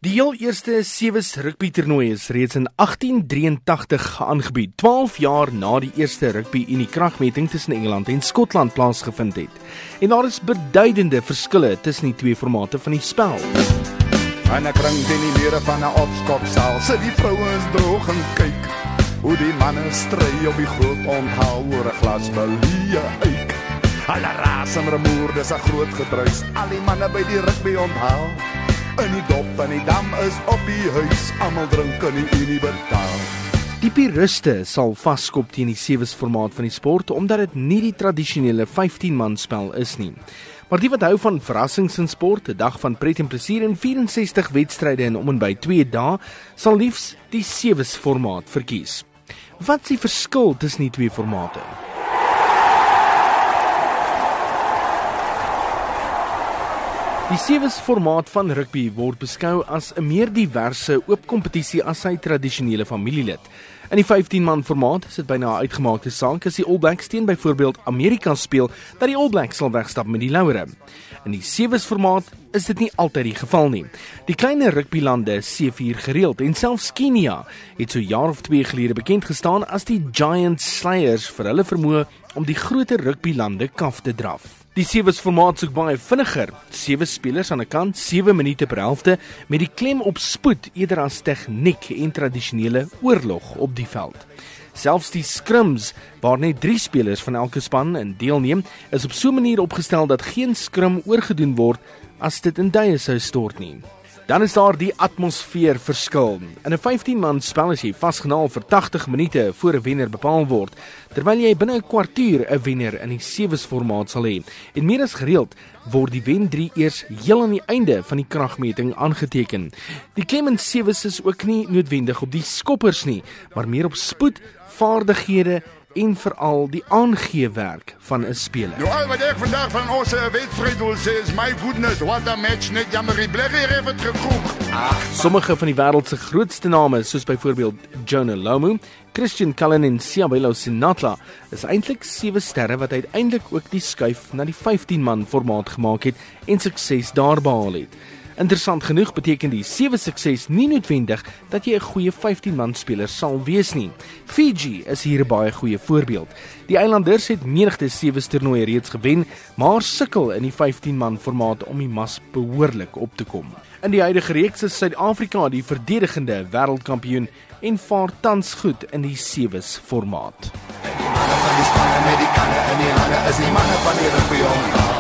Die heel eerste Sewes rugby toernooi is reeds in 1883 aangebied, 12 jaar na die eerste rugby Unie kragmeting tussen Engeland en Skotland plaasgevind het. En daar is beduidende verskille tussen die twee formate van die spel. En ek ring in die mure van 'n opskoksaal, sit die vrouens droog en kyk hoe die manne stry op die groot onthaal oor 'n glas Belie eik. Alle raas en rumoer, dis 'n groot gedruis, al die manne by die rugby onthaal. In die dop en die dam is op die huis, almal drink in die Unie betaal. Die puriste sal vaskop teen die Sewes formaat van die sport, omdat dit nie die tradisionele 15-man spel is nie. Maar die wat hou van verrassings in sport, 'n dag van pret en plesier en 64 wedstryde in om en by 2 dae, sal liefs die Sewes formaat verkies. Wat is die verskil tussen die twee formate? Die Sewes formaat van rugby word beskou as 'n meer diverse oop kompetisie as sy tradisionele familielid. In die 15-man formaat is dit byna 'n uitgemaakte saak as die All Blacks teen byvoorbeeld Amerika speel, dat die All Blacks sal wegstap met die laure. In die Sewes formaat is dit nie altyd die geval nie. Die kleiner rugbylande seevier gereeld en selfs Kenia het so 'n jaar of 2 gelede bekend gestaan as die Giant Slayers vir hulle vermoë om die groter rugbylande kaf te draf. Die Sewes formaat soek baie vinniger, 7 spelers aan 'n kant, 7 minute per helfte, met die klem op spoed eerder as tegniek en tradisionele oorlog op die veld. Selfs die scrims, waar net 3 spelers van elke span in deelneem, is op so 'n manier opgestel dat geen scrum oorgedoen word as dit in duie sou stort nie. Dan is daar die atmosfeer verskil. In 'n 15-man spel is jy vasgenaal vir 80 minute voor 'n wenner bepaal word, terwyl jy binne 'n kwartier 'n wenner in die Sewes formaat sal hê. En meer as gereeld word die wen 3 eers heel aan die einde van die kragmeting aangeteken. Die klem in Sewes is ook nie noodwendig op die skoppers nie, maar meer op spoed, vaardighede en veral die aangeewerk van 'n speler. Nou al wat ek vandag van ons wedstryd wil sê is, my goodness, what a match, net jammer die blegger het het gekroek. Sommige van die wêreld se grootste name, soos byvoorbeeld Jonah Lomu, Christian Cullen en Siabelo Sinatla, is eintlik 7 sterre wat uiteindelik ook die skuif na die 15-man formaat gemaak het en sukses daar behaal het. Interessant genoeg beteken die 7 sukses nie noodwendig dat jy 'n goeie 15-man speler sal wees nie. Fiji is hier 'n baie goeie voorbeeld. Die eilanders het menigte Sewes toernooie reeds gewen, maar sukkel in die 15-man formaat om die mas behoorlik op te kom. In die huidige reeks is Suid-Afrika die verdedigende wêreldkampioen en vaar tans goed in die Sewes formaat. Die manne van die spanne met die kanne in die hande is die manne van die rugby.